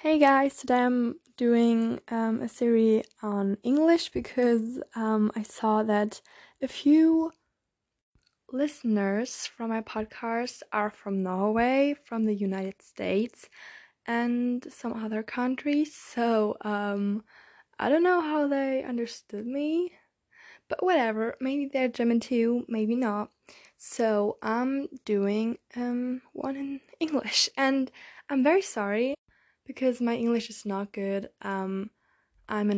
Hey guys, today I'm doing a series on English because I saw that a few listeners from my podcast are from Norway, from the United States, and some other countries. So I don't know how they understood me, but whatever. Maybe they're German too, maybe not. So I'm doing one in English, and I'm very sorry because my English is not good. I'm a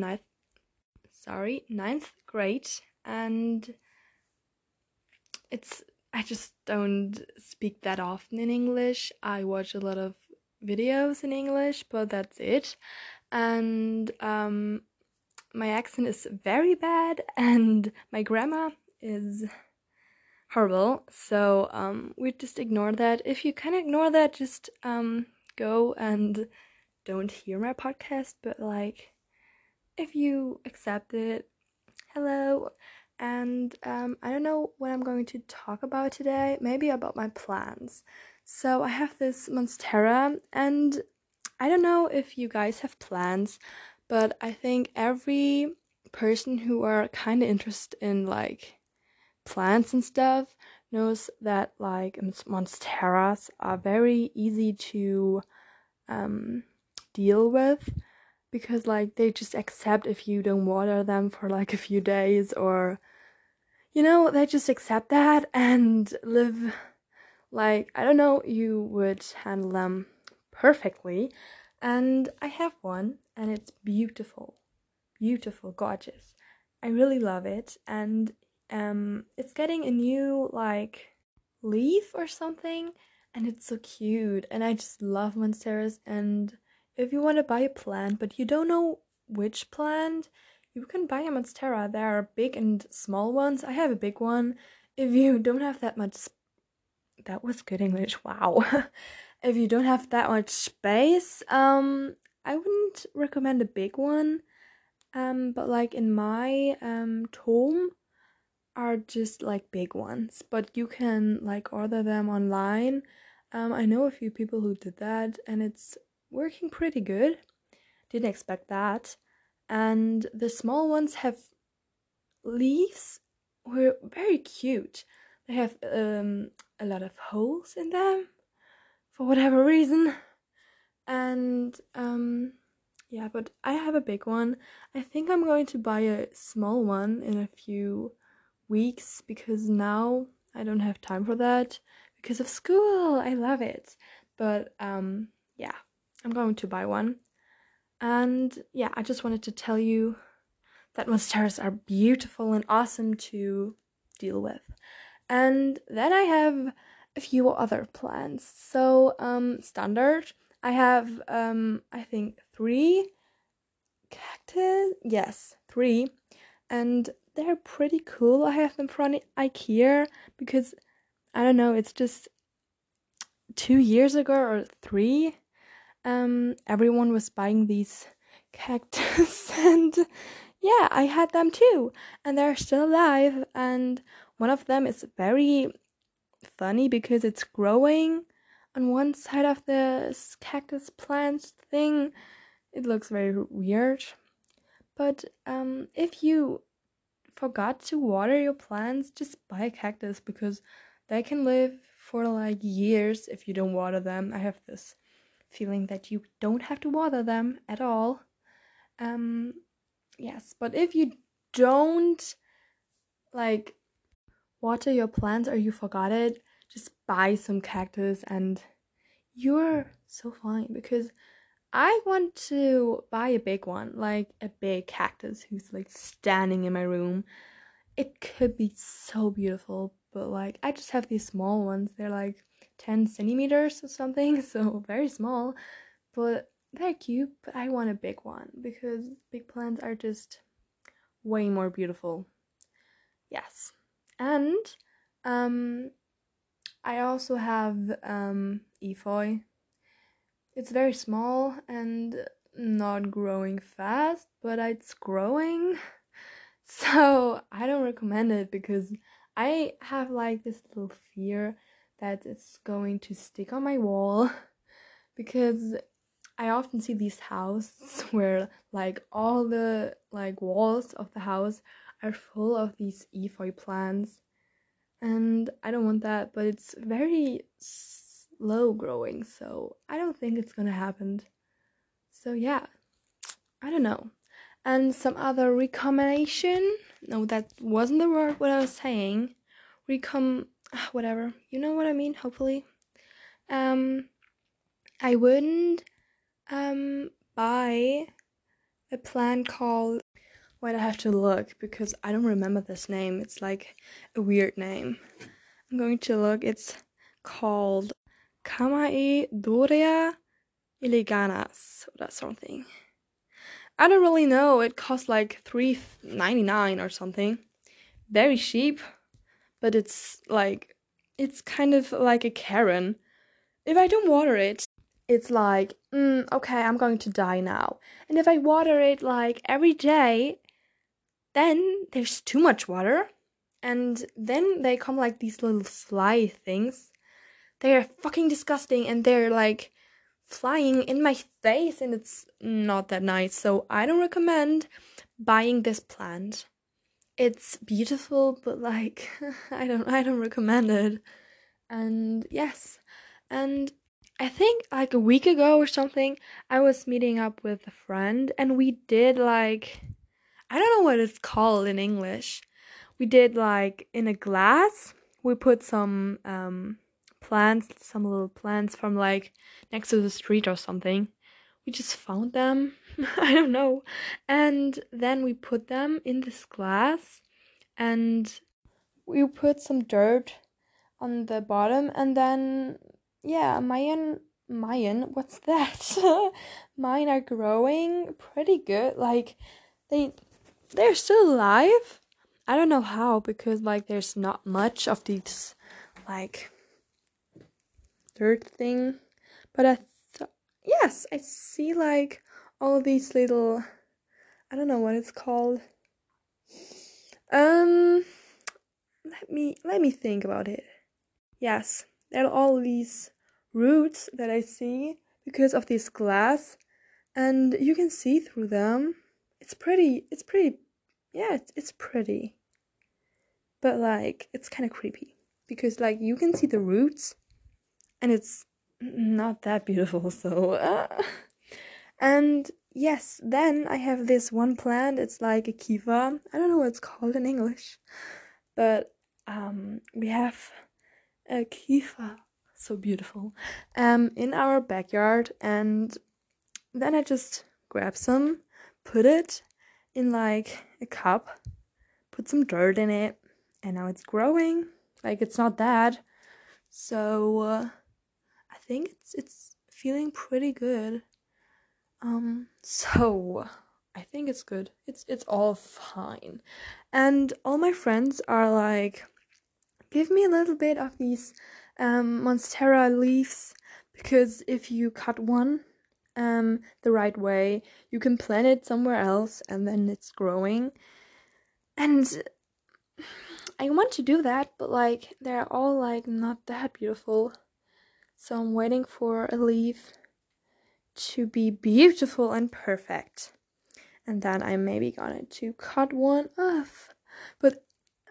ninth grade, and it's I just don't speak that often in English. I watch a lot of videos in English, but that's it. And my accent is very bad, and my grammar is horrible. So we just ignore that. If you can ignore that, just go and don't hear my podcast. But like, if you accept it, hello. And I don't know what I'm going to talk about today. Maybe about my plans. So I have this Monstera, and I don't know if you guys have plans, but I think every person who are kind of interested in like plants and stuff knows that like Monsteras are very easy to um, deal with because like they just accept if you don't water them for like a few days, or they just accept that and live like, I don't know, you would handle them perfectly. And I have one, and it's beautiful, beautiful, gorgeous. I really love it. And it's getting a new like leaf or something, and it's so cute. And I just love monsteras. And if you want to buy a plant but you don't know which plant, you can buy a monstera. There are big and small ones. I have a big one. If you don't have that much that was good English, wow. If you don't have that much space, I wouldn't recommend a big one. But like in my home are just like big ones, but you can like order them online. I know a few people who did that, and it's working pretty good. Didn't expect that. And the small ones have leaves were very cute. They have a lot of holes in them for whatever reason. And yeah, but I have a big one. I think I'm going to buy a small one in a few weeks because now I don't have time for that because of school. I love it. But yeah, I'm going to buy one. And yeah, I just wanted to tell you that monsteras are beautiful and awesome to deal with. And then I have a few other plants. So standard, I have I think 3 cactus. Yes, 3. And they're pretty cool. I have them from IKEA because I don't know, it's just 2 years ago or 3. Everyone was buying these cactus, and yeah, I had them too, and they're still alive. And one of them is very funny because it's growing on one side of this cactus plant thing. It looks very weird. But if you forgot to water your plants, just buy a cactus because they can live for like years if you don't water them. I have this feeling that you don't have to water them at all. Um, yes, but if you don't like water your plants or you forgot it, just buy some cactus and you're so fine because I want to buy a big one, like a big cactus who's like standing in my room. It could be so beautiful, but like I just have these small ones. They're like 10 centimeters or something, so very small, but they're cute. But I want a big one because big plants are just way more beautiful. Yes. And um I also have efeu. It's very small and not growing fast, but it's growing. So I don't recommend it because I have like this little fear that it's going to stick on my wall because I often see these houses where like all the like walls of the house are full of these efeu plants, and I don't want that, but it's very slow growing, so I don't think it's gonna happen. So yeah, I don't know. And some other recommendation? No, that wasn't the word what I was saying. Whatever. You know what I mean, hopefully. Um I wouldn't buy a plant called, wait, I have to look because I don't remember this name. It's like a weird name. I'm going to look. It's called Kamae Doria Eleganas or something. I don't really know. It costs like $3.99 or something. Very cheap, but it's kind of like a Karen. If I don't water it, it's like, okay, I'm going to die now. And if I water it like every day, then there's too much water. And then they come like these little fly things. They're fucking disgusting and they're like flying in my face and it's not that nice. So I don't recommend buying this plant. It's beautiful, but like I don't recommend it. And yes. And I think like a week ago or something, I was meeting up with a friend and we did like, I don't know what it's called in English. We did like in a glass, we put some plants, some little plants from like next to the street or something. We just found them. I don't know. And then we put them in this glass and we put some dirt on the bottom and then yeah, Mayan, what's that? Mine are growing pretty good. Like they're still alive. I don't know how because like there's not much of these like dirt thing, but yes, I see like all these little, I don't know what it's called. Let me think about it. Yes, there are all these roots that I see because of this glass, and you can see through them. It's pretty. Yeah, it's pretty, but like it's kind of creepy because like you can see the roots, and it's not that beautiful. So, and yes, then I have this one plant. It's like a kiva. I don't know what it's called in English, but we have a kifa, so beautiful, in our backyard, and then I just grab some, put it in like a cup, put some dirt in it, and now it's growing. Like it's not bad, so I think it's feeling pretty good. So I think it's good. It's all fine, and all my friends are like, give me a little bit of these monstera leaves, because if you cut one the right way, you can plant it somewhere else and then it's growing. And I want to do that, but like they're all like not that beautiful. So I'm waiting for a leaf to be beautiful and perfect. And then I'm maybe gonna to cut one off. But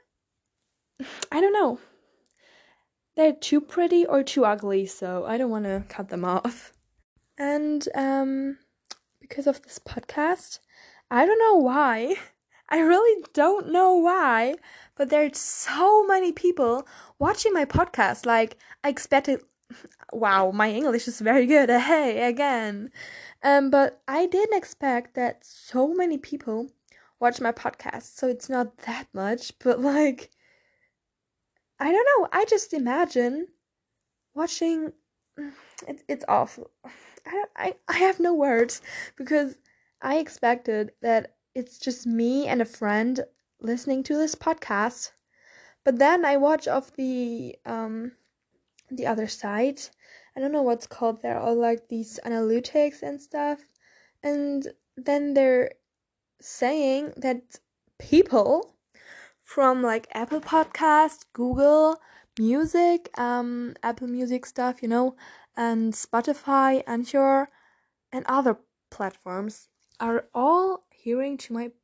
I don't know. They're too pretty or too ugly, so I don't want to cut them off. And because of this podcast, I don't know why. I really don't know why, but there's so many people watching my podcast. Like I expected. Wow, my English is very good. Hey, again. But I didn't expect that so many people watch my podcast. So it's not that much, but like I don't know. I just imagine watching. It's awful. I have no words because I expected that it's just me and a friend listening to this podcast. But then I watch of the other side. I don't know what's called. There are like these analytics and stuff, and then they're saying that people from like Apple Podcast, Google Music, Apple Music stuff, and Spotify, Anchor, and other platforms are all hearing to my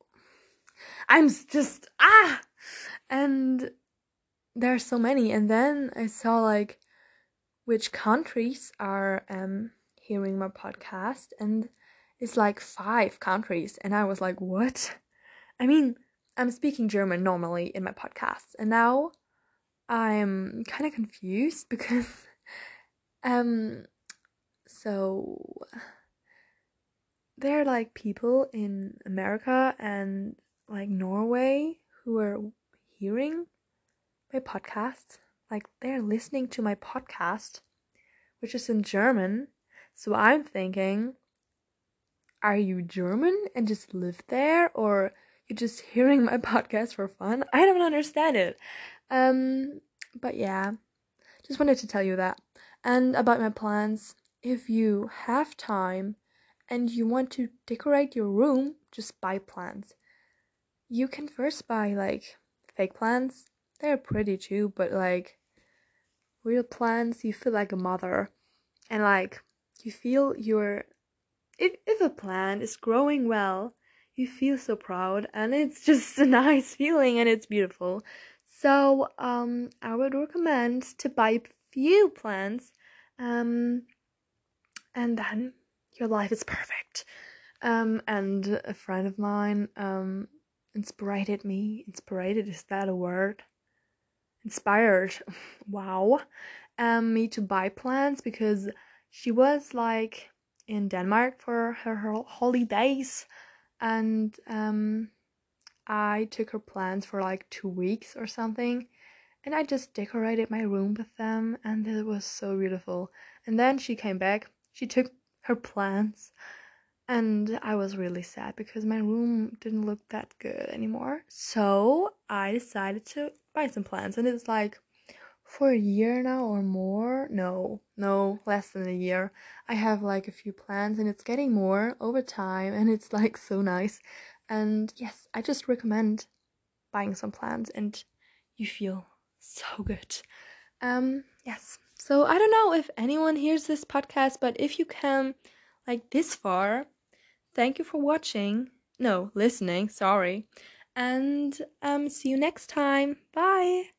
just and there are so many. And then I saw like which countries are hearing my podcast, and it's like 5 countries, and I was like, what? I mean, I'm speaking German normally in my podcasts, and now I'm kind of confused because um so there are like people in America and like Norway who are hearing my podcast. Like they're listening to my podcast, which is in German. So I'm thinking, are you German and just live there, or you're just hearing my podcast for fun? I don't understand it. But yeah, just wanted to tell you that. And about my plans, if you have time and you want to decorate your room, just buy plants. You can first buy like fake plants. They're pretty too, but like real plants, you feel like a mother. And like you feel your if a plant is growing well, you feel so proud, and it's just a nice feeling and it's beautiful. So I would recommend to buy few plants, and then your life is perfect. And a friend of mine inspired me. Inspired, is that a word? Inspired. Wow. Me to buy plants because she was like in Denmark for her holidays, and I took her plants for like 2 weeks or something, and I just decorated my room with them, and it was so beautiful. And then she came back, she took her plants, and I was really sad because my room didn't look that good anymore. So I decided to buy some plants, and it's like for a year now or more. No, less than a year. I have like a few plants, and it's getting more over time, and it's like so nice. And yes, I just recommend buying some plants, and you feel so good. Yes. So I don't know if anyone hears this podcast, but if you come like this far, thank you for watching. No, listening, sorry. And see you next time. Bye.